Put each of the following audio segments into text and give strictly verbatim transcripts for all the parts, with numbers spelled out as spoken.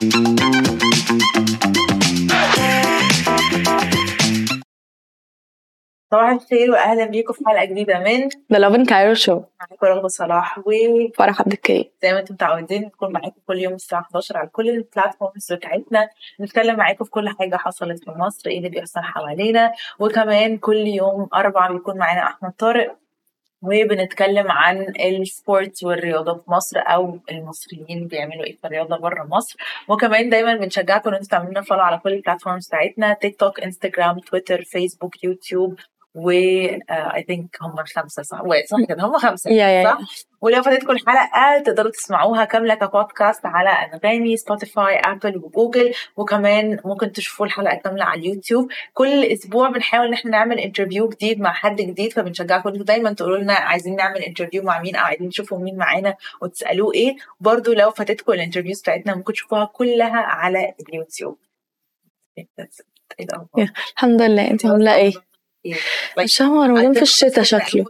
صباح الخير واهلا بيكم في حلقه جديده من The Love in Cairo Show. معاكم رغده صلاح وفرح عبد الكريم. زي ما انتم متعودين نكون معاكم كل يوم الساعه حداشر على كل البلاتفورمز بتاعتنا، نتكلم معاكم في كل حاجه حصلت في مصر، ايه اللي بيحصل حوالينا. وكمان كل يوم اربعة بيكون معانا احمد طارق وبنتكلم عن السبورتس والرياضه في مصر او المصريين بيعملوا ايه في الرياضه بره مصر. وكمان دايما بنشجعكم ان انتم تعملوا لنا فولو على كل البلاتفورمز بتاعتنا، تيك توك، انستجرام، تويتر، فيسبوك، يوتيوب، و اي ثينك هم الخمسه صح؟ صح كده هم خمسه yeah, صح؟ yeah. ولو فاتتكم الحلقه تقدروا تسمعوها كامله كبودكاست على انغامي، سبوتيفاي، ابل وجوجل، وكمان ممكن تشوفوا الحلقه كامله على اليوتيوب. كل اسبوع بنحاول ان احنا نعمل انترفيو جديد مع حد جديد، فبنشجعكم انتوا دايما تقولوا لنا عايزين نعمل انترفيو مع مين او عايزين تشوفوا مين معانا وتسالوه ايه. برضو لو فاتتكم الانترفيوز بتاعتنا ممكن تشوفوها كلها على اليوتيوب. yeah. الحمد لله. انت عامله ايه؟ الشهر رمضان في الشتاء شكله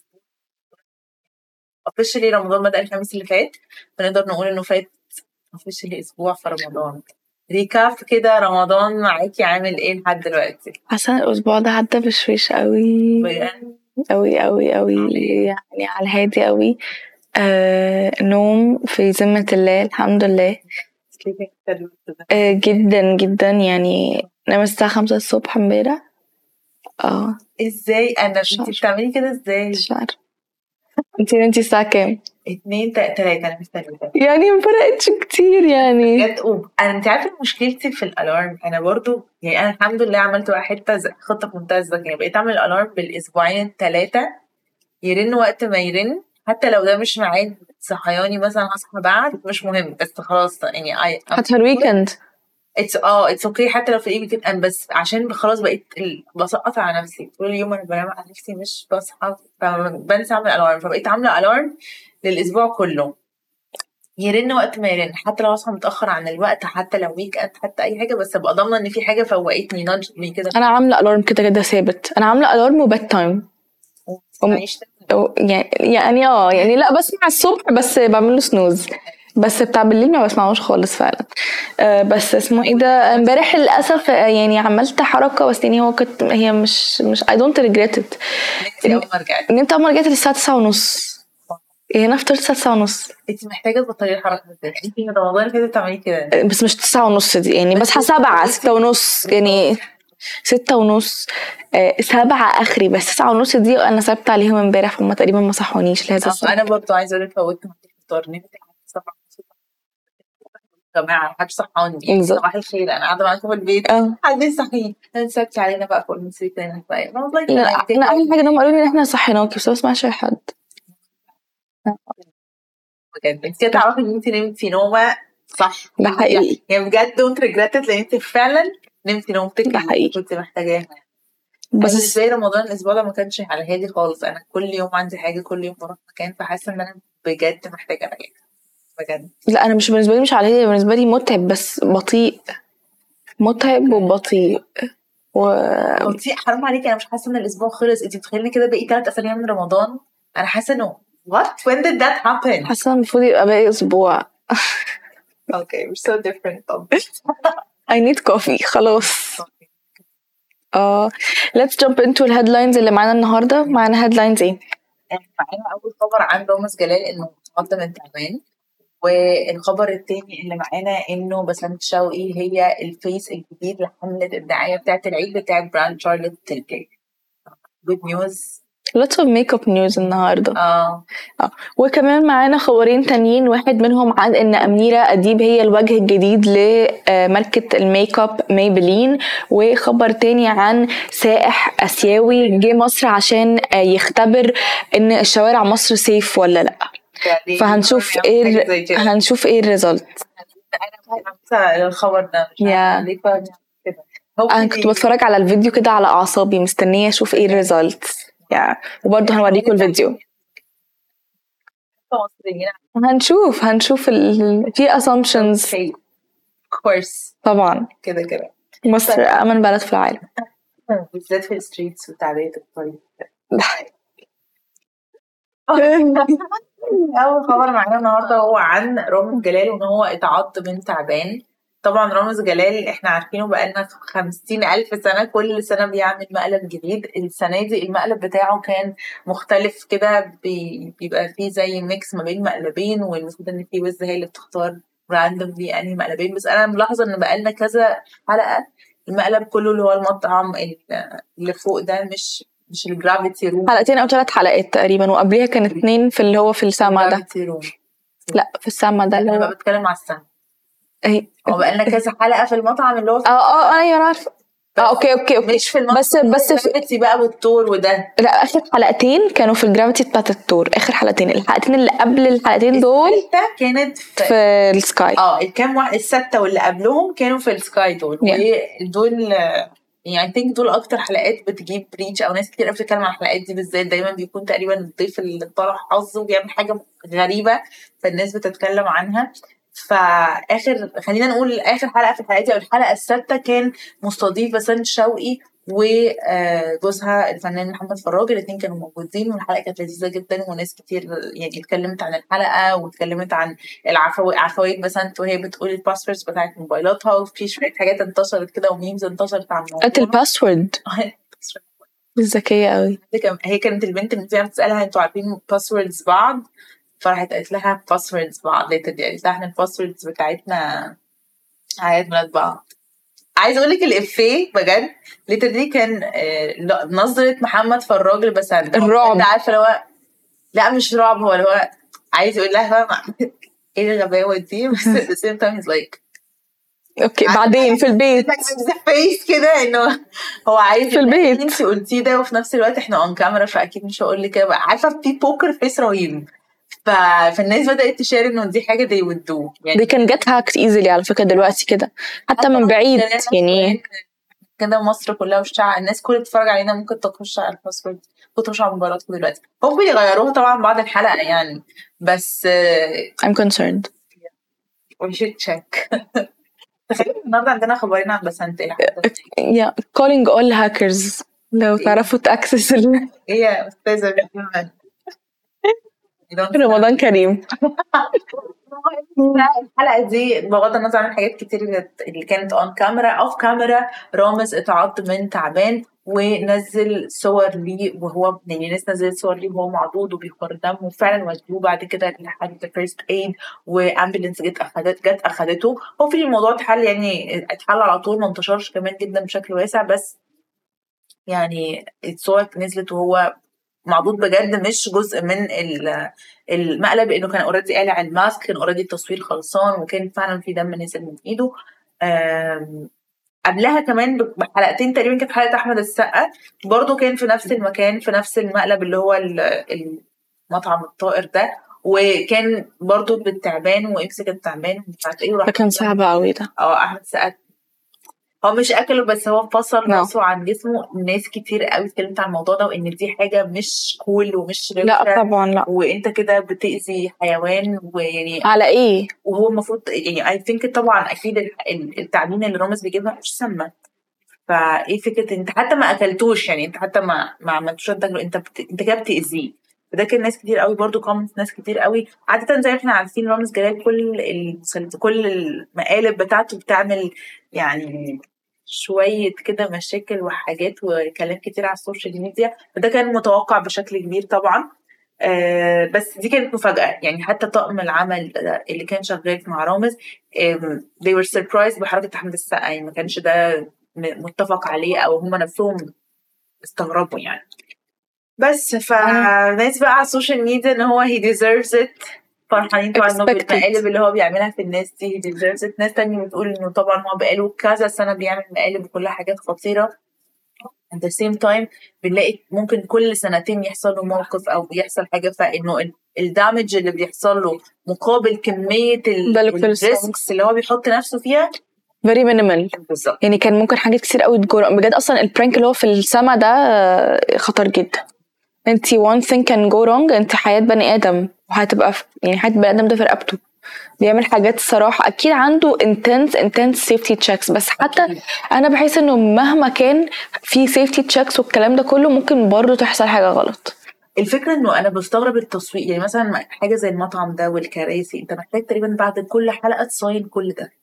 officially رمضان بدأ الخميس اللي فات، فنقدر نقول انه فات officially اسبوع في رمضان. ريكاب كده، رمضان معاكي عامل ايه لحد دلوقتي؟ حاسه الاسبوع ده عدى بشويش قوي بجد قوي قوي قوي، يعني على الهادي قوي. آه نوم في ذمة الله الحمد لله. آه جدا جدا، يعني نام الساعة خمسة الصبح امبارح. اه ازاي انا انتي بتعملي كده ازاي؟ مش عارفه. انتي نمتي الساعة كام؟ اتنين تلاتة. انا مستنيه يعني مفرقتش كتير يعني بجد. انا انت عارفه مشكلتي في الالارم، انا برضو يعني انا الحمد لله عملت واحد خطه في منتهى الذكاء، بقيت اعمل الالارم بالاسبوعين الثلاثه يرن وقت ما يرن، حتى لو ده مش ميعاد صحياني، مثلا هصحى بعد مش مهم، بس خلاص يعني اي حتى الويكند اتس اه اتس اوكي، حتى لو في الايه بتبقى، بس عشان خلاص بقيت ال... بسقط على نفسي طول اليوم، انا بنام على نفسي مش بصحى، فبنسى اعمل الارم، فبقيت عامله الارم للاسبوع كله يرن وقت ما يرن، حتى لو اصحى متاخر عن الوقت، حتى لو ويك اند، حتى اي حاجه، بس ابقى ضامنه ان في حاجه فوقتني نادجني كده. انا عامله الارم كده كده ثابت، انا عامله الارم وبات تايم أم... يعني يعني اه يعني لا بسمع الصبح بس بعمله سنوز، بس بتاع بالليل ما بسمعوش خالص فعلا. أه بس اسمه ايه ده، امبارح للاسف يعني عملت حركه، بس يعني هو كنت هي مش مش I don't regret it. ان انت اول ما رجعت الساعه تسعة ونص، يعني انا فطرت الساعه تسعة ونص. انت محتاجه تبطلي الحركه دي، انت من رمضان كده بتعملي كده، بس مش تسعة ونص دي، يعني بصحى سبعة ستة ونص، يعني ستة ونص أه سبعة اخري، بس تسعة ونص دي انا ثابته عليهم امبارح، فهم تقريبا ما صحونيش لهذا السبب. انا برضو عايزه اقول لك فوتت الفطار، نمت سبعة يا جماعه محدش صحاني، صباح الخير انا قاعده معاكم في البيت، حد يصحيني، انا سبت علينا بقى فوق المسرية تاني بقى. لا انا اول حاجه انهم قالوا لي ان احنا صحيناكي، بس ما اسمعش اي حد بجد. انت كده تعرفي ان انت نمتي نومه صح، ده حقيقي يعني بجد دونت ريجريت، لان انت فعلا نمتي نومتك ده حقيقي كنت محتاجاها. بس بالنسبه لي رمضان الاسبوع ده ما كانش على هادي خالص، انا كل يوم عندي حاجه، كل يوم بروح مكان، فحاسه ان انا بجد محتاجه اريح بجد. لا انا مش بالنسبه لي مش على هادي، بالنسبه لي متعب، بس بطيء، متعب وبطيء و بطيء. حرام عليكي، انا مش حاسه ان الاسبوع خلص، انت بتخيلني كده بقيت ثلاث اسابيع من رمضان، انا حاسه انه what when did that happen. حاسه المفروض يبقى باقي اسبوع. okay we're so different I need coffee خلاص. اه let's jump into الهيدلاينز اللي معانا النهارده. معانا هيدلاينز ايه؟ معانا اول خبر عن رامز جلال انه متقدم من تعبان، والخبر التاني اللي معانا انه بسنت شوقي هي الفيس الجديد لحملة الدعاية بتاعت العيد بتاعت براند شارلوت تيلبي. good news lots of makeup news النهارده. اه اه وكمان معانا خبرين تانيين، واحد منهم عن ان أميرة أديب هي الوجه الجديد لماركة الميك اب ميبلين، وخبر تاني عن سائح اسيوي جه مصر عشان يختبر ان الشوارع مصر سيف ولا لا، فهنشوف ايه هنشوف ايه الريزلت. انا الخبر ده مش عارفه ليه كده، انا كنت بتفرج على الفيديو كده على اعصابي مستنيه اشوف ايه الريزلت يعني، وبرضه هنوريكم الفيديو. هنشوف هنشوف ال... في assumptions of course طبعا كده كده. مصر امن بلد في العالم بالذات في الستريتس وتعبئة الطريق. اول خبر معانا النهارده هو عن رامز جلال، وان هو اتعض من تعبان طبعا رامز جلال احنا عارفينه بقالنا خمسين ألف سنة، كل سنة بيعمل مقلب جديد. السنة دي المقلب بتاعه كان مختلف كده، بي- بيبقى فيه زي ميكس ما بين مقلبين، والمفروض ان في وز هي اللي بتختار راندوملي انهي مقلبين. بس انا ملاحظة ان بقالنا كذا حلقة المقلب كله اللي هو المطعم اللي فوق ده، مش مش الجرافيتي روم. حلقتين او ثلاث حلقات تقريبا، وقبليها كان اتنين في اللي هو في السما ده. جرافيتي روم. لا في السما ده اللي انا هو بقى بتكلم على السما. ايه. هو بقالنا كذا حلقة في المطعم اللي هو في اه اه ايوه انا عارفه. اه اوكي اوكي اوكي مش في المطعم بس بس في... الجرافيتي بقى والطور وده. لا اخر حلقتين كانوا في الجرافيتي بتاعت التور. اخر حلقتين، الحلقتين اللي قبل الحلقتين دول الستة كانت في, في السكاي. اه الكام واحد الستة واللي قبلهم كانوا في السكاي دول. Yeah. ودول يعني I think دول اكتر حلقات بتجيب ريتش، او ناس كتير بتتكلم عن الحلقات دي بالذات. دايما بيكون تقريبا الضيف اللي طلع حظه وبيعمل حاجة غريبة فالناس بتتكلم عنها. فاخر خلينا نقول اخر حلقة في الحلقات دي او الحلقة السادسة كان مستضيف بسنت شوقي وجوزها الفنان محمد فراج. الاثنين كانوا موجودين والحلقة كانت لذيذة جدا، وناس كتير يعني اتكلمت عن الحلقة واتكلمت عن العفوي عفوية بسنت وهي بتقول الباسوردز بتاعت موبايلاتها، وفي شوية حاجات انتشرت كده وميمز انتشرت عن الموضوع. قلت الباسورد ذكية قوي. هي كانت البنت اللي فيها بتسألها انتوا عارفين باسوردز بعض، فراحت قالت لها باسوردز بعض. لقيت دي قالت لها احنا الباسوردز بتاعتنا عيد ميلاد بعض. عايز اقول لك الافيه بجد ليتر دي كان آه نظرة محمد فراج لبسنت الرعب. انت عارفه اللي هو لا مش رعب، هو اللي هو عايز يقول لها ايه الغباوه دي، بس at the same time he's like اوكي بعدين في البيت فيس كده انه هو عايز في البيت انت قلتيه ده، وفي نفس الوقت احنا اون كاميرا فاكيد مش هقول لك كده. عارفه في بوكر فيس رهيب، ف... فالناس بدات تشير انه دي حاجه دي ودو يعني. دي كان جت هاكت ايزلي على فكره دلوقتي كده حتى من بعيد يعني كده. مصر كلها والشعب الناس كل اللي بتتفرج علينا ممكن تخش على الباسورد تخش على مباراتكم دلوقتي. هم بيغيروها طبعا بعد الحلقه يعني، بس I'm concerned we should check. تخيل النهارده عندنا خبرين عن بسنت. yeah calling all hackers لو تعرفوا تاكسس ال ايه يا استاذه رمضان كريم. الحلقه دي بغض النظر عن حاجات كتير اللي كانت اون كاميرا اوف كاميرا، رامز اتعض من تعبان ونزل صور ليه وهو يعني ناس نزلت صور ليه وهو معضوض وبيخر دم، وفعلا ودوه بعد كده لحد فيرست ايد وامبولانس جت اخدت جت اخدته. هو في الموضوع اتحل يعني اتحل على طول، ما انتشرش كمان جدا بشكل واسع، بس يعني الصور نزلت وهو معضوض بجد مش جزء من المقلب، انه كان اوريدي قالع الماسك، كان اوريدي التصوير خلصان وكان فعلا في دم نزل من ايده. قبلها كمان بحلقتين تقريبا كانت حلقه احمد السقا برضو كان في نفس المكان في نفس المقلب اللي هو المطعم الطائر ده، وكان برضو بالتعبان وامسك التعبان مش عارفه ايه. كان صعب قوي ده. اه احمد السقا هو مش اكله بس هو فصل راسه no. عن جسمه. ناس كتير قوي اتكلمت عن الموضوع ده وان دي حاجه مش كول ومش لا طبعا لا، وانت كده بتاذي حيوان ويعني على ايه. وهو المفروض يعني اي ثينك طبعا اكيد التعبين اللي رامز بيجيبها مش سامه، فايه فكره انت حتى ما اكلتوش يعني انت حتى ما ما عملتوش انت انت بت... انت كده بتاذيه. فده كان ناس كتير قوي برضو كومنت ناس كتير قوي. عاده زي ما احنا عارفين رامز جلال كل ال... كل المقالب بتاعته بتعمل يعني شوية كده مشاكل وحاجات وكلام كتير على السوشيال ميديا، فده كان متوقع بشكل كبير طبعا. آه بس دي كانت مفاجأة يعني. حتى طاقم العمل اللي كان شغال مع رامز آه they were surprised بحركة أحمد السقا يعني ما كانش ده متفق عليه أو هم نفسهم استغربوا يعني. بس فالناس بقى على السوشيال ميديا ان هو he deserves it فرحانين طبعا انه بالمقالب اللي هو بيعملها في الناس دي he deserves it. ناس تانية بتقول انه طبعا هو بقاله كذا سنة بيعمل مقالب وكل حاجات خطيرة. at the same time بنلاقي ممكن كل سنتين يحصل له موقف او بيحصل حاجة فانه الدامج اللي بيحصل له مقابل كمية الريسكس اللي هو بيحط نفسه فيها very minimal بالظبط. يعني كان ممكن حاجات كتير قوي تجرأ بجد. اصلا البرانك اللي هو في السما ده خطر جدا. انت one thing can go wrong انت حياة بني ادم وهتبقى يعني حياة بني ادم ده في رقبته. بيعمل حاجات الصراحة اكيد عنده intense intense safety checks، بس حتى أكيد. انا بحس انه مهما كان في safety checks والكلام ده كله ممكن برضو تحصل حاجة غلط. الفكرة انه انا بستغرب التصوير يعني مثلا حاجة زي المطعم ده والكراسي انت محتاج تقريبا بعد كل حلقة تصاين كل ده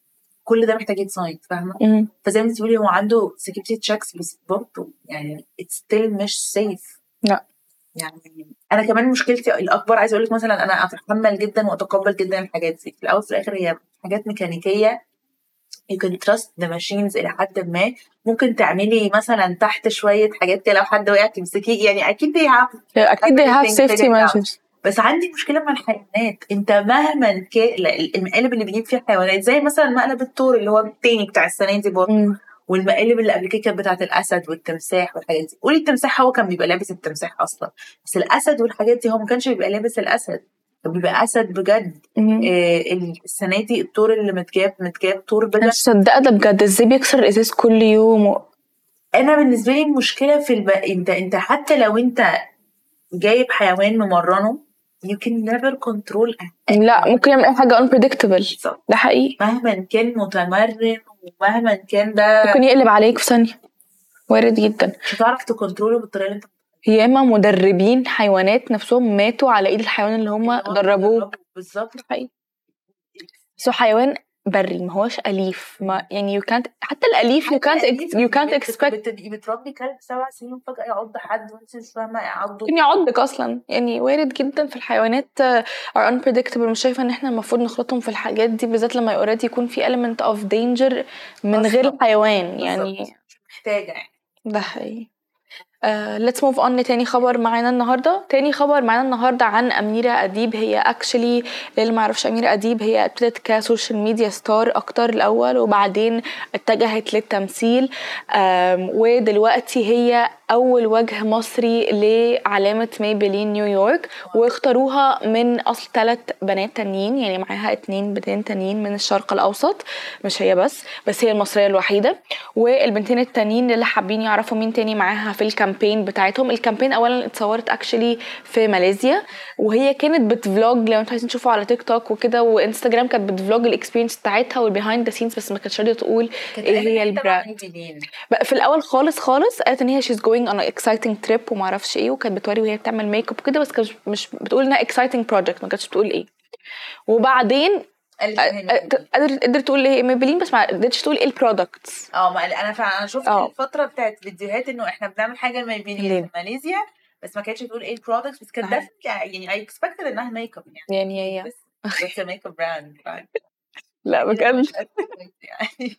كل ده محتاج يتصاين فاهمه. مم. فزي ما بتقولي هو عنده سكيورتي تشيكس بس برضه يعني it's still مش سيف. لا يعني انا كمان مشكلتي الاكبر عايزه اقول لك مثلا انا اتحمل جدا واتقبل جدا الحاجات دي في الاول في الاخر هي حاجات ميكانيكيه you can trust the machines الى حد ما. ممكن تعملي مثلا تحت شويه حاجات كده لو حد وقع تمسكيه يعني اكيد they have اكيد they have everything safety figured out. measures. بس عندي مشكله مع الحيوانات. انت مهما كان المقالب اللي بيجيب فيها حيوانات زي مثلا مقلب الثور اللي هو التاني بتاع السنه دي برضه مم. والمقالب اللي قبل كده كانت بتاعت الاسد والتمساح والحاجات دي. قولي التمساح هو كان بيبقى لابس التمساح اصلا بس الاسد والحاجات دي هو ما كانش بيبقى لابس الاسد كان بيبقى اسد بجد. مم. آه السنه دي الثور اللي متجاب متجاب ثور انا بجد. مش مصدقه ده بجد ازاي بيكسر الازاز كل يوم و... انا بالنسبه لي المشكله في الب... انت انت حتى لو انت جايب حيوان ممرنه you can never control لا ممكن يعمل اي حاجه unpredictable. بالظبط. ده حقيقي مهما كان متمرن ومهما كان ده ممكن يقلب عليك في ثانيه وارد جدا. مش هتعرف تكنتروله بالطريقه اللي انت ياما مدربين حيوانات نفسهم ماتوا على ايد الحيوان اللي هم اللي هو دربوه. بتدربه. بالظبط. ده حقيقي. سو حيوان بري ما هوش أليف ما يعني you can't حتى الأليف you can't ex- you can't expect بتبقي بتربي كلب سبع سنين فجأة يعض حد وانت مش فاهمة يعضه. ممكن يعضك أصلا يعني وارد جدا في الحيوانات uh, are unpredictable. مش شايفة إن إحنا المفروض نخلطهم في الحاجات دي بالذات لما already يكون في element of danger من غير الحيوان يعني مش محتاجة يعني. ده حقيقي. Uh, let's move on لتاني خبر معانا النهاردة. تاني خبر معانا النهاردة عن أميرة أديب. هي actually اللي معرفش أميرة أديب هي ابتدت كسوشيال ميديا ستار أكتر الأول وبعدين اتجهت للتمثيل um, ودلوقتي هي أول وجه مصري لعلامة ميبلين نيويورك واختاروها من أصل ثلاث بنات تانيين يعني معاها اتنين بنتين تانيين من الشرق الأوسط مش هي بس بس هي المصرية الوحيدة. والبنتين التانيين اللي حابين يعرفوا مين تاني معاها في الكامبين بتاعتهم. الكامبين اولا اتصورت اكشلي في ماليزيا وهي كانت بتفلوج لو انتوا عايزين تشوفوا على تيك توك وكده وانستجرام كانت بتفلوج الاكسبيرينس بتاعتها والبيهايند ذا سينز بس ما كانتش راضيه تقول ايه هي البراند. في الاول خالص خالص قالت ان هي شيز جوينج اون اكسايتنج تريب وما اعرفش ايه وكانت بتوري وهي بتعمل ميك اب كده بس كانت مش بتقول انها اكسايتنج بروجكت ما كانتش بتقول ايه. وبعدين قدرت قدرت تقول ايه ميبلين بس ما قدرتش تقول ايه البرودكتس. اه ما انا فعلا انا شفت أوه. الفتره بتاعت فيديوهات انه احنا بنعمل حاجه ميبلين في ماليزيا بس ما كانتش تقول ايه البرودكتس بس كانت يعني اي اكسبكتد انها ميك اب يعني يعني هي بس ميك اب براند. لا بجد يعني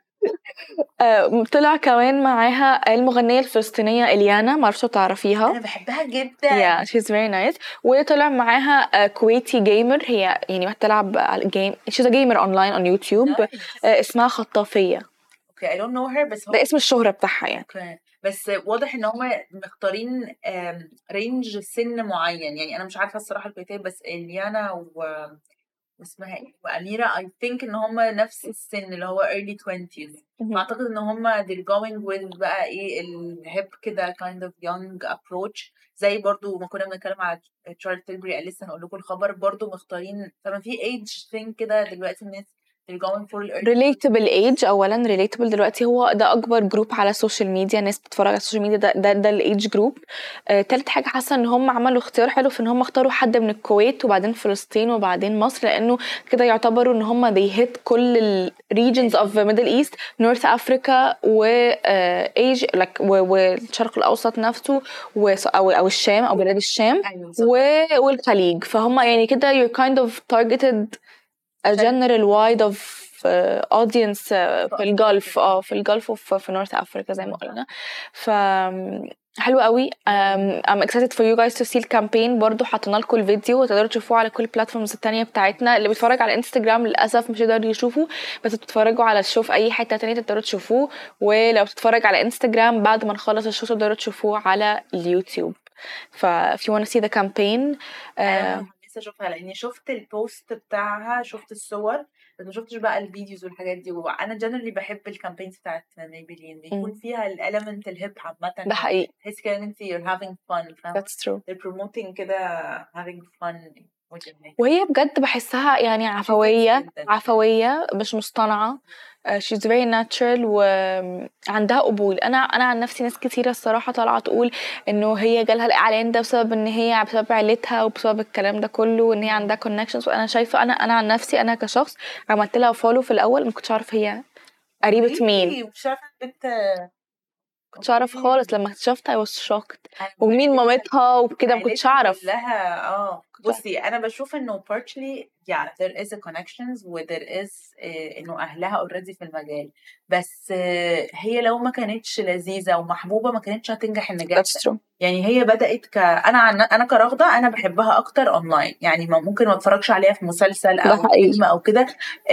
طلع كمان معاها المغنية الفلسطينية إليانا معرفش تعرفيها. أنا بحبها جدا. yeah she's very nice. وطلع معاها كويتي جيمر هي يعني بتلعب جيم she's a gamer online on YouTube nice. اسمها خطافية. okay I don't know her بس هو ده اسم الشهرة بتاعها يعني. okay. بس واضح ان هم مختارين رينج سن معين يعني انا مش عارفة الصراحة الكويتية بس إليانا و اسمها ايه وأميرة I think ان هم نفس السن اللي هو early twenties فاعتقد ان هم they're going with بقى ايه الهيب كده kind of young approach زي برضو ما كنا بنتكلم على تشارلز تيلبري لسه هنقول لكم الخبر برضو مختارين فما في age thing كده دلوقتي الناس they're going for relatable age. اولا relatable دلوقتي هو ده اكبر جروب على السوشيال ميديا ناس بتتفرج على السوشيال ميديا ده ده, ده الايدج جروب. آه، تالت حاجه حاسه ان هم عملوا اختيار حلو في ان هم اختاروا حد من الكويت وبعدين فلسطين وبعدين مصر لانه كده يعتبروا ان هم they hit كل ال regions of Middle East North Africa و ايج uh, like والشرق الاوسط نفسه و او او الشام او بلاد الشام والخليج فهم يعني كده you're kind of targeted a general wide of uh, audience uh, في الجلف اه في الجلف وفي في نورث افريكا زي ما قلنا. ف حلو قوي. um, I'm excited for you guys to see الكامبين. برضو حطينا لكم الفيديو وتقدروا تشوفوه على كل البلاتفورمز التانية بتاعتنا. اللي بيتفرج على انستجرام للاسف مش يقدر يشوفه بس بتتفرجوا على الشو في اي حته تانية تقدروا تشوفوه ولو بتتفرج على انستجرام بعد ما نخلص الشو تقدروا تشوفوه على اليوتيوب. ف if you want to see the campaign uh, اشوفها لاني شفت البوست بتاعها شفت الصور بس ما شفتش بقى الفيديوز والحاجات دي. وانا جنرالي بحب الكامبينز بتاعت ميبلين بيكون فيها الاليمنت الهيب عامه ده حقيقي تحس كده ان انت you're having fun that's true they're promoting كده having fun وهي بجد بحسها يعني عفوية عفوية مش مصطنعة. uh, she's very natural وعندها قبول. انا انا عن نفسي ناس كتيرة الصراحة طالعة تقول انه هي جالها الاعلان ده بسبب ان هي بسبب عيلتها وبسبب الكلام ده كله وان هي عندها connections. وانا شايفة انا انا عن نفسي انا كشخص عملت لها فولو في الاول ما كنتش عارف هي قريبة مين، مش عارفة بنت كنتش اعرف خالص. لما اكتشفت I was shocked ومين مامتها وكده ما كنتش اعرف لها. اه بصي انا بشوف انه partially yeah there is a connections و there is uh, انه اهلها already في المجال، بس uh, هي لو ما كانتش لذيذة ومحبوبة ما كانتش هتنجح النجاح. That's true. يعني هي بدأت ك انا عن... انا كرغدة انا بحبها اكتر اونلاين، يعني ممكن ما اتفرجش عليها في مسلسل او فيلم او كده.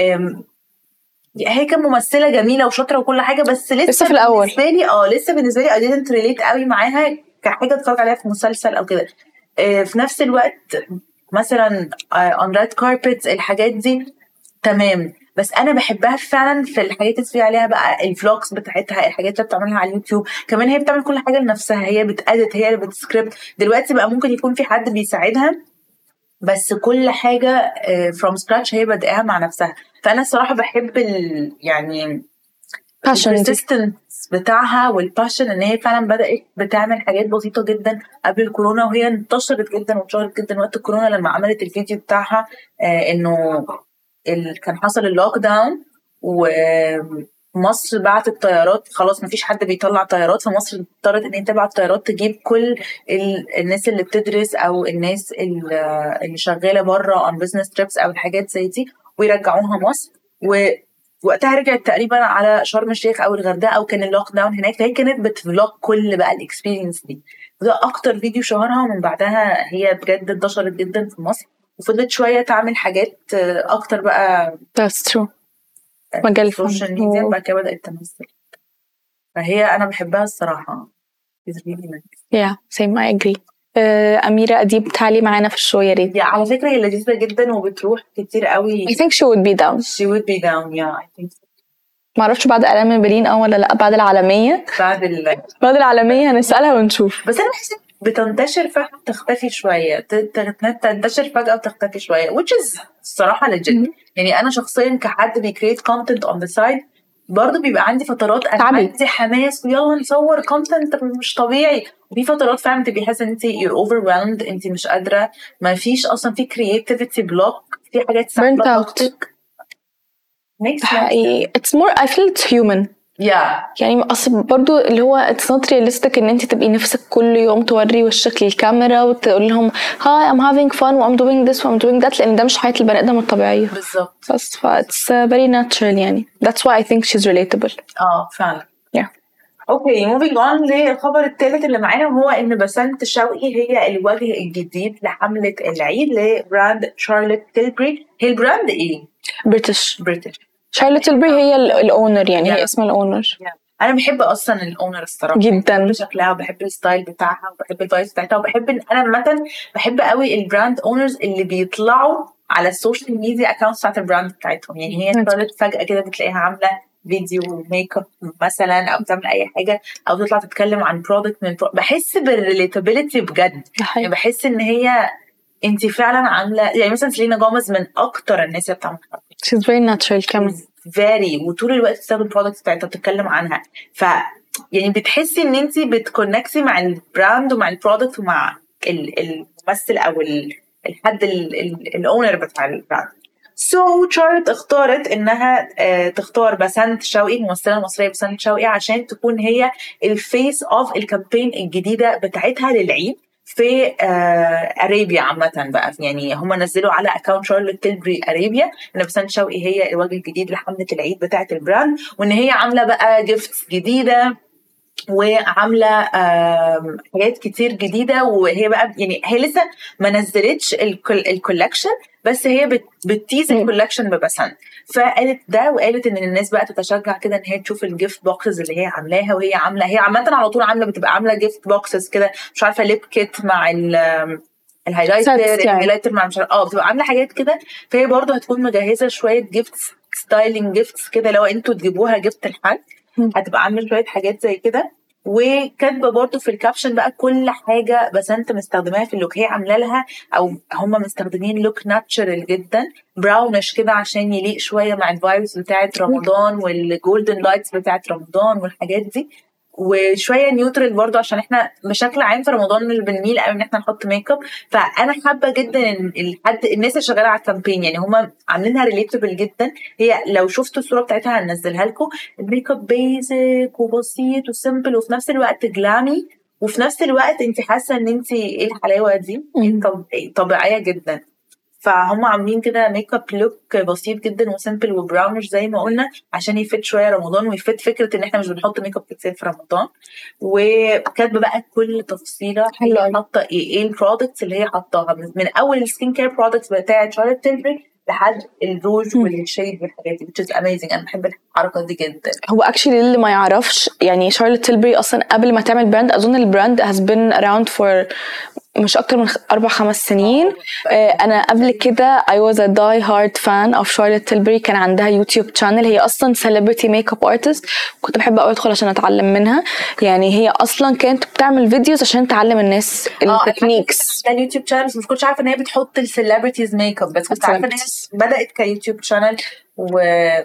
هي كانت ممثله جميله وشاطره وكل حاجه، بس لسه, لسه في الاول بالنسبه لي اه لسه بالنسبه لي I didn't relate قوي معاها كحاجه اتفرج عليها في مسلسل او كده. آه في نفس الوقت مثلا آه on red carpets الحاجات دي تمام، بس انا بحبها فعلا في الحاجات اللي فيها عليها بقى الفلوجز بتاعتها، الحاجات اللي بتعملها على اليوتيوب. كمان هي بتعمل كل حاجه لنفسها، هي بتأدت، هي اللي بتسكريبت. دلوقتي بقى ممكن يكون في حد بيساعدها، بس كل حاجة from scratch هي بدأها مع نفسها. فأنا الصراحة بحب ال يعني البرسيستنس بتاعها والباشن، إن هي فعلا بدأت بتعمل حاجات بسيطة جدا قبل الكورونا، وهي انتشرت جدا وانتشرت جدا وقت الكورونا لما عملت الفيديو بتاعها آه إنه ال... كان حصل اللوك داون ومصر بعتت طيارات، خلاص مفيش حد بيطلع طيارات، فمصر اضطرت ان هي تبعت طيارات تجيب كل ال... الناس اللي بتدرس او الناس اللي, اللي شغاله بره on business trips او الحاجات زي دي ويرجعوها مصر. ووقتها رجعت تقريبا على شرم الشيخ او الغردقه او كان اللوك داون هناك، فهي كانت بتفلوج كل بقى الاكسبيرينس دي. وده اكتر فيديو شهرها، ومن بعدها هي بجد انتشرت جدا في مصر وفضلت شويه تعمل حاجات اكتر بقى. That's true. مجال السوشيال ميديا بعد كده بدأت تمثل، فهي أنا بحبها الصراحة. yeah same I agree. uh, أميرة أديب تعالي معانا في الشو يا ريت. yeah, على فكرة هي لذيذة جدا وبتروح كتير قوي. I think she would be down. she would be down yeah I think so. معرفش بعد ألام من برلين أو ولا لأ. بعد العالمية بعد ال بعد العالمية هنسألها ونشوف. بس أنا بحس بتنتشر فجأة وتختفي شوية، تنتشر فجأة وتختفي شوية which is الصراحة legit. يعني أنا شخصيا كحد بيكريت content on the side برضو بيبقى عندي فترات أنا تعبي. عندي حماس ويلا نصور content مش طبيعي، وفي فترات فعلا تبقي حاسة انت you're overwhelmed، انت مش قادرة، ما فيش أصلا في creativity block، في حاجات سهلة طاقتك. حقيقي it's more I feel it's human. yeah. يعني أصل برضو اللي هو it's not realistic إن أنت تبقي نفسك كل يوم توري وشك للكاميرا وتقول لهم hi I'm having fun و I'm doing this و I'm doing that، لأن ده مش حياة البني آدم الطبيعية. بالظبط. بس ف it's very natural يعني. That's why I think she's relatable. اه فعلا. yeah. اوكي moving on للخبر الثالث اللي معانا، وهو ان بسنت شوقي هي الوجه الجديد لحملة العيد لبراند شارلوت تيلبري. هي البراند ايه؟ بريتش. بريتش. شارلوت تيلبري هي الاونر يعني yeah. هي اسم الاونر. yeah. انا بحب اصلا الاونر الصراحه جدا، بحب شكلها وبحب الستايل بتاعها وبحب الفايبس بتاعتها، وبحب ان انا مثلا بحب قوي البراند اونرز اللي بيطلعوا على السوشيال ميديا اكونتس بتاعت البراند بتاعتهم. يعني هي صارت فجاه كده بتلاقيها عامله فيديو ميك اب مثلا او بتعمل اي حاجه او تطلع تتكلم عن برودكت من برو... بحس بالريليتابيلتي بجد. يعني بحس ان هي انت فعلا عامله، يعني مثلا سيلينا جوميز من اكتر الناس اللي بتعمل she's very natural كمان very، وطول الوقت بتستخدم البرودكت بتاعتها بتتكلم عنها، ف يعني بتحسي ان انت بتكونكتي مع البراند ومع البرودكت ومع الممثل او الحد الاونر بتاع البراند. سو so, شارلوت اختارت انها آه تختار بسنت شوقي، الممثله المصريه بسنت شوقي، عشان تكون هي الفيس اوف الكامبين الجديده بتاعتها للعيد في آه اريبيا عامه بقى. يعني هم نزلوا على اكونت شارلوت تيلبري اريبيا ان بسنت شوقي هي الوجه الجديد لحمله العيد بتاعه البراند، وان هي عامله بقى جيفتس جديده وعامله حاجات كتير جديده. وهي بقى يعني هي لسه ما نزلتش الكولكشن، بس هي بتتيز الكولكشن ببسنت. فقالت ده وقالت ان الناس بقى تتشجع كده ان هي تشوف الجيفت بوكسز اللي هي عاملاها، وهي عامله هي عامه على طول عامله بتبقى عامله جيفت بوكسز كده، مش عارفه ليب كيت مع الهايلايتر الهايلايتر مع مش اه بتبقى عامله حاجات كده. فهي برضو هتكون مجهزه شويه جيفت ستايلينج جيفتس كده، لو انتوا تجيبوها جيفت لحد هتبقى عامله شويه حاجات زي كده. وكاتبه برضو في الكابشن بقى كل حاجه بس انت مستخدماها في اللوك، هي عامله لها او هم مستخدمين لوك ناتشرال جدا براونش كده عشان يليق شويه مع الفايبس بتاعه رمضان والجولدن لايتس بتاعه رمضان والحاجات دي، وشويه نيوترال برضو عشان احنا بشكل عام في رمضان مش بنميل قوي ان احنا نحط ميك اب. فانا حابه جدا ان الحد الناس اللي شغاله على الكامبين يعني هم عاملينها ريليتابل جدا. هي لو شفتوا الصوره بتاعتها هنزلها لكم، الميك اب بيزك وبسيط وسيمبل وفي نفس الوقت جلامي، وفي نفس الوقت انت حاسه ان انت ايه الحلاوه دي، طب طبيعيه جدا. فهم عاملين كده ميك اب لوك بسيط جدا وسيمبل وبراونش زي ما قلنا عشان يفيد شويه رمضان ويفيد فكره ان احنا مش بنحط ميك اب كتير في رمضان. وكاتبه بقى كل تفصيله هي حاطه ايه ايه البرودكتس اللي هي حطاها من اول السكين كير برودكتس بتاعه شارلوت تيلبري لحد الروج والشيد والحاجات دي which is amazing. انا بحب الحركه دي جدا. هو اكشلي اللي ما يعرفش يعني شارلوت تيلبري اصلا قبل ما تعمل براند اظن البراند has been around for مش اكتر من اربع خمس سنين. آه انا قبل كده I was a die hard fan of Charlotte Tilbury. كان عندها يوتيوب channel، هي اصلا celebrity makeup artist، كنت بحب قوي ادخل عشان اتعلم منها. يعني هي اصلا كانت بتعمل فيديوز عشان تعلم الناس التكنيكس. ده اليوتيوب channel مش كنتش عارفه ان هي بتحط السيلبرتيز ميك اب، بس كنت عارفه ان هي بدات كيوتيوب channel و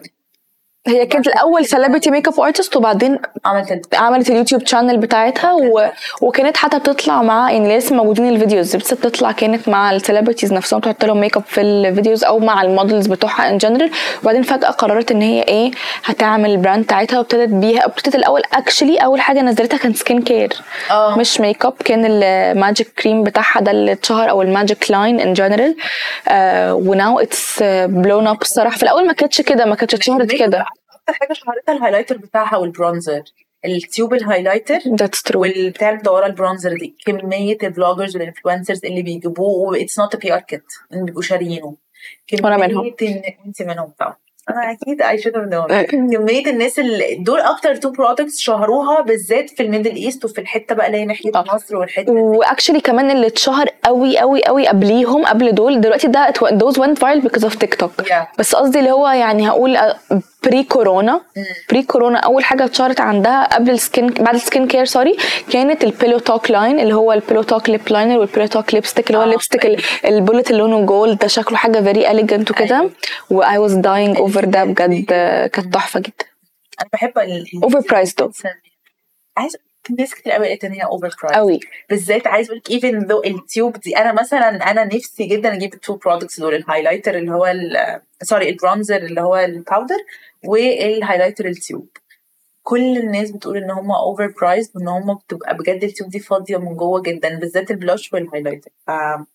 هي كانت الاول سيلبرتي ميك اب ارتست وبعدين عملت عملت اليوتيوب شانل بتاعتها و... وكانت حتى بتطلع مع يعني لسه موجودين الفيديوز بس بتطلع كانت مع السيلبرتيز نفسهم تحط لهم ميك اب في الفيديوز او مع المودلز بتوعها ان جنرال. وبعدين فجاه قررت ان هي ايه هتعمل البراند بتاعتها وابتدت بيها. ابتدت الاول اكشلي اول حاجه نزلتها كان سكين كير أوه. مش ميك اب، كان الماجيك كريم بتاعها ده اللي اتشهر او الماجيك لاين ان جنرال. وناو اتس بلون اب الصراحه. في الاول ما كانتش كده، ما كانتش اتشهرت كده. اكتر حاجه شهرتها الهايلايتر بتاعها والبرونزر، التيوب الهايلايتر والبتاع الدوره البرونزر دي. كميه البلوجرز والانفلونسرز اللي بيجيبوه اتس نوت ا بي ار كيت اللي بيبقوا شاريينه، وانا منهم انت منهم طبعا. انا اكيد I should have known. كميه الناس اللي دول اكتر تو برودكتس شهروها بالذات في الميدل ايست وفي الحته بقى اللي هي ناحيه مصر والحته دي. واكشلي كمان اللي اتشهر قوي قوي قوي قبليهم قبل دول دلوقتي ده those went viral because of TikTok. yeah. بس قصدي اللي هو يعني هقول بري كورونا بري كورونا اول حاجه اتشهرت عندها قبل السكين بعد السكين كير سوري كانت البيلو توك لاين اللي هو البيلو توك ليب لاينر والبيلو توك ليبستيك اللي هو الليبستيك البولت اللي لونه جولد ده شكله حاجه فيري اليجنت وكده. و I was dying over ده بجد كانت تحفه جدا. انا بحب ال اوفر برايس دو عايز ناس كتير قوي قالت ان هي اوفر برايس قوي بالذات. عايز اقول لك ايفن ذو التيوب دي انا مثلا انا نفسي جدا اجيب التو برودكتس دول، الهايلايتر اللي هو سوري البرونزر اللي هو الباودر والهايلايتر التيوب. كل الناس بتقول ان هم اوفر برايس وان هم بتبقى بجد التيوب دي فاضيه من جوه جدا بالذات البلاش والهايلايتر. ف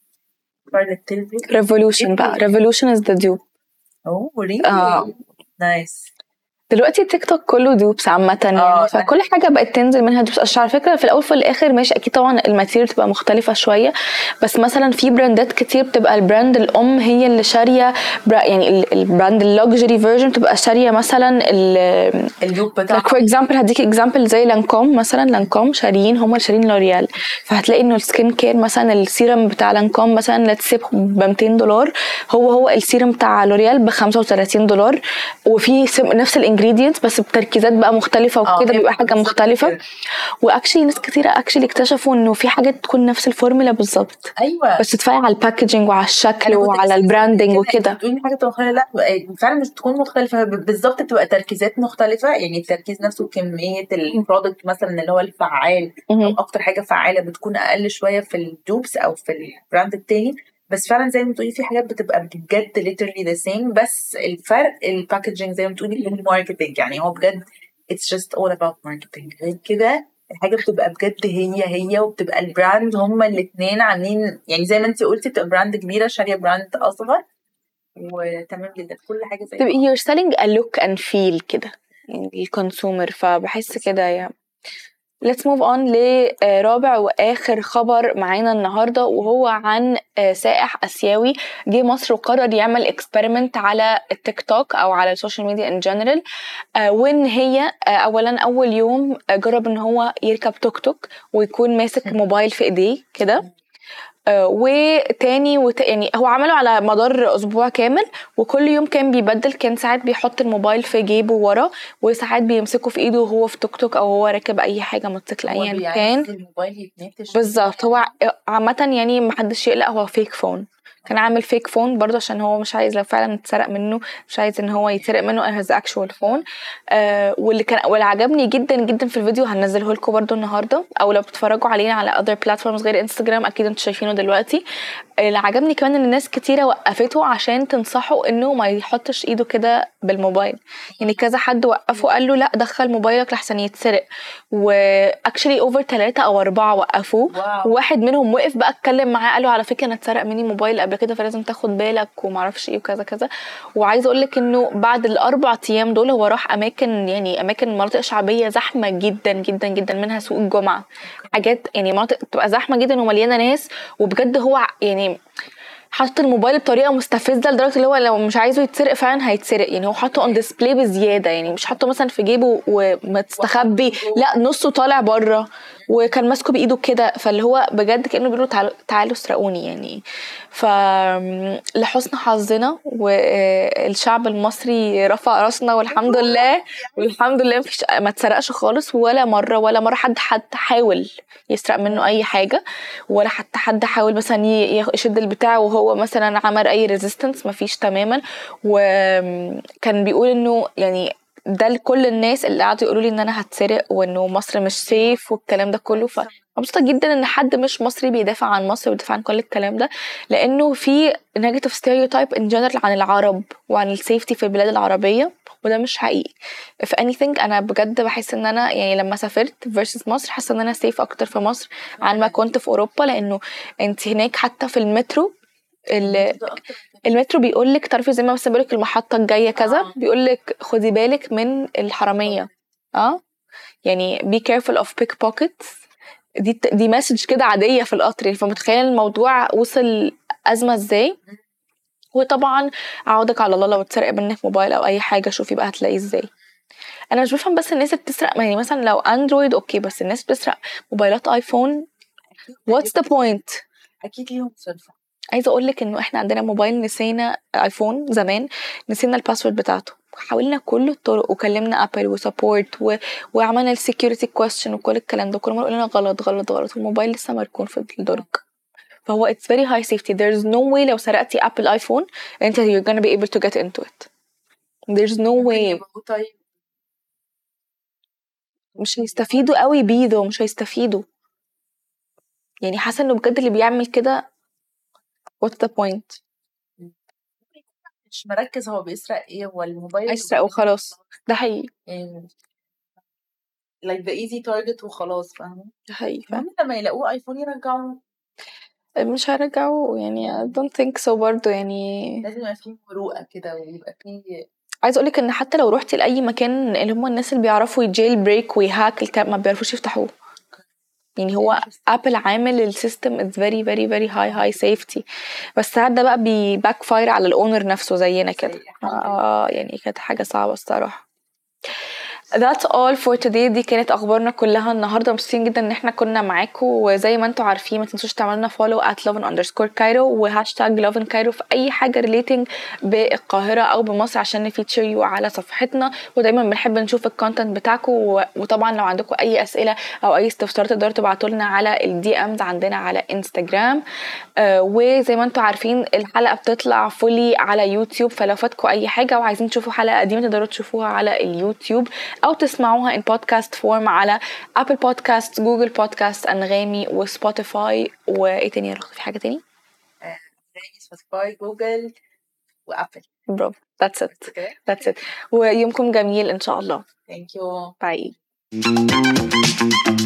ريفولوشن بقى ريفولوشن از ذا ديوب. اوه ريلي نايس. دلوقتي تيك توك كله دوبس عامه يعني فكل حاجه بقت تنزل منها دوبس. على فكره في الاول في الاخر ماشي اكيد طبعا الماتيريال بتبقى مختلفه شويه بس مثلا في براندات كتير بتبقى البراند الام هي اللي شاريه يعني البراند اللوكسجري فيرجن بتبقى شاريه مثلا اللوك بتاعها. فور اكزامبل هديك اكزامبل زي لانكوم مثلا. لانكوم شاريين هم اللي شارين لوريال فهتلاقي انه السكين كير مثلا السيرم بتاع لانكوم مثلا لتسيب ب مئتين دولار هو هو السيرم بتاع لوريال ب خمسة وثلاثين دولار وفي نفس الانجريدينتس بس بتركيزات بقى مختلفه وكده بيبقى حاجه مختلفه. واكشلي ناس كتير اكشلي اكتشفوا انه في حاجات تكون نفس الفورمولا بالظبط ايوه بس تدفعي على الباكجينج وعلى الشكل وعلى البراندنج وكده. تقولي حاجه مختلفه لا فعلا مش تكون مختلفه بالظبط بتبقى تركيزات مختلفه يعني التركيز نفسه وكميه البرودكت مثلا اللي هو الفعال او اكتر حاجه فعاله بتكون اقل شويه في الدوبس او في البراند التاني. بس فعلا زي ما تقولي في حاجات بتبقى بجد literally the same بس الفرق الباكجينج زي ما تقولي الماركتينج. يعني هو بجد it's just all about marketing. غير كده الحاجه بتبقى بجد هي هي وبتبقى البراند هما الاثنين عاملين يعني زي ما انت قلتي بتبقى براند كبيره شاريه براند اصغر وتمام جدا كل حاجه زي تبقى you're selling a look and feel كده يعني الكونسومر. فبحس كده يعني Let's move on لرابع وآخر خبر معانا النهاردة وهو عن سائح آسيوي جه مصر وقرر يعمل اكسبيرمنت على التيك توك أو على السوشيال ميديا in general. وإن هي أولا أول يوم جرب إن هو يركب توك توك ويكون ماسك موبايل في إيديه كده آه وتاني وت... يعني هو عمله على مدار اسبوع كامل، وكل يوم كان بيبدل. كان ساعات بيحط الموبايل في جيبه ورا، وساعات بيمسكه في ايده وهو في توك توك او هو راكب اي حاجه موتوسيكل ايا كان. الموبايل يتنتش بالظبط. هو عامه يعني محدش يقلق، هو فيك فون. كان عامل فيك فون برضه عشان هو مش عايز لو فعلا اتسرق منه، مش عايز ان هو يتسرق منه as actual phone. آه واللي كان واللي عجبني جدا جدا في الفيديو هنزله لكم برضه النهارده، او لو بتتفرجوا علينا على other platforms غير انستجرام اكيد انتوا شايفينه دلوقتي. اللي عجبني كمان ان الناس كتيره وقفته عشان تنصحه انه ما يحطش ايده كده بالموبايل. يعني كذا حد وقفه قال له لا دخل موبايلك لحسن يتسرق، واكشلي اوفر ثلاثة او أربعة وقفوه. وواحد منهم وقف بقى اتكلم معاه قال له على فكره انا اتسرق مني موبايل قبل كده فلازم تاخد بالك وما اعرفش ايه وكذا كذا. وعايزه اقول لك انه بعد الاربع ايام دول هو راح اماكن يعني اماكن مناطق شعبيه زحمه جدا جدا جدا، منها سوق الجمعه، حاجات يعني مناطق تبقى زحمه جدا ومليانه ناس. وبجد هو يعني حاطط الموبايل بطريقه مستفزه لدرجه اللي هو لو مش عايزه يتسرق فعلا هيتسرق. يعني هو حاطه اون ديسبلاي بزياده، يعني مش حاطه مثلا في جيبه ومستخبي، لا نصه طالع بره وكان ماسكه بايده كده. فاللي هو بجد كانه بيقولوا تعالوا تعالوا اسرقوني يعني. فلحسن حظنا والشعب المصري رفع راسنا والحمد لله، والحمد لله مفيش ما اتسرقش خالص ولا مره ولا مره حد حد حاول يسرق منه اي حاجه، ولا حتى حد حاول مثلا يشد البتاع وهو مثلا عمل اي ريزيستنس، مفيش تماما. وكان بيقول انه يعني ده لكل الناس اللي قعدوا يقولوا لي ان انا هتسرق وانه مصر مش سيف والكلام ده كله. فمبسوطه جدا ان حد مش مصري بيدافع عن مصر ويدافع عن كل الكلام ده، لانه في نيجاتيف ستيريوتايب ان جنرال عن العرب وعن السيفتي في البلاد العربيه، وده مش حقيقي. if anything انا بجد بحس ان انا يعني لما سافرت versus مصر حاسه ان انا سيف اكتر في مصر عن ما كنت في اوروبا. لانه انت هناك حتى في المترو المترو بيقولك تعرفي زي ما مثلا بيقولك المحطه الجايه كذا، بيقولك خدي بالك من الحراميه. اه يعني be careful of pickpockets. دي دي مسج كده عاديه في القطر. فمتخيل الموضوع وصل ازمه ازاي. وطبعا عودك على الله لو اتسرق منك موبايل او اي حاجه شوفي بقى هتلاقيه ازاي. انا مش بفهم بس الناس بتسرق يعني مثلا لو اندرويد اوكي، بس الناس بتسرق موبايلات ايفون what's the point؟ اكيد ليهم صرفه. عايزه اقول لك انه احنا عندنا موبايل نسينا ايفون زمان، نسينا الباسورد بتاعته، حاولنا كل الطرق وكلمنا ابل وسبورت و... وعملنا السكيورتي كويستشن وكل الكلام ده، كل مره يقولوا لنا غلط غلط غلط والموبايل لسه مركون في الدرج. فهو it's very high safety. there's no way لو سرقتي ابل ايفون انت you're gonna be able to get into it. there's no way. مش هيستفيدوا قوي بيه، مش هيستفيدوا. يعني حاسه انه بجد اللي بيعمل كده what's the point؟ مش مركز هو بيسرق ايه، هو الموبايل يسرق وخلاص. ده حقيقي يعني like the easy target وخلاص. فاهمه؟ ده حقيقي. فاهمه لما يلاقوه ايفون يرجعوه. مش هرجعوه يعني I don't think so برضو. يعني لازم يبقى فيه مروءه كده ويبقى فيه. عايز اقولك ان حتى لو روحتي لاي مكان اللي هم الناس اللي بيعرفوا يجيل بريك ويهاك الكلام ما بيعرفوش يفتحوه. يعني هو ابل عامل السيستم is very very very high high safety، بس ساعات ده بقى بيباك فاير على الاونر نفسه زينا كده. اه يعني كانت حاجه صعبه الصراحه. That's all for today. دي كانت اخبارنا كلها النهارده. مبسوطين جدا ان احنا كنا معاكم، وزي ما انتم عارفين ما تنسوش تعملوا لنا follow at lovin underscore cairo وهاشتاج lovin cairo في اي حاجه relating بالقاهره او بمصر عشان نفيتشر يو على صفحتنا. ودايما بنحب نشوف الكونتنت بتاعكم، وطبعا لو عندكم اي اسئله او اي استفسار تقدروا تبعتوا لنا على الدي امز عندنا على انستغرام. آه وزي ما انتم عارفين الحلقه بتطلع فولي على يوتيوب، فلو فاتكم اي حاجه وعايزين تشوفوا حلقه قديمه تقدروا تشوفوها على اليوتيوب او تسمعوها in podcast form على ابل بودكاست، جوجل بودكاست، انغامي وسبوتيفاي. وايه تاني يا رخص؟ في حاجه تاني؟ انغامي، سبوتيفاي، جوجل وابل. برافو. that's it that's it. ويومكم جميل ان شاء الله. thank you. bye.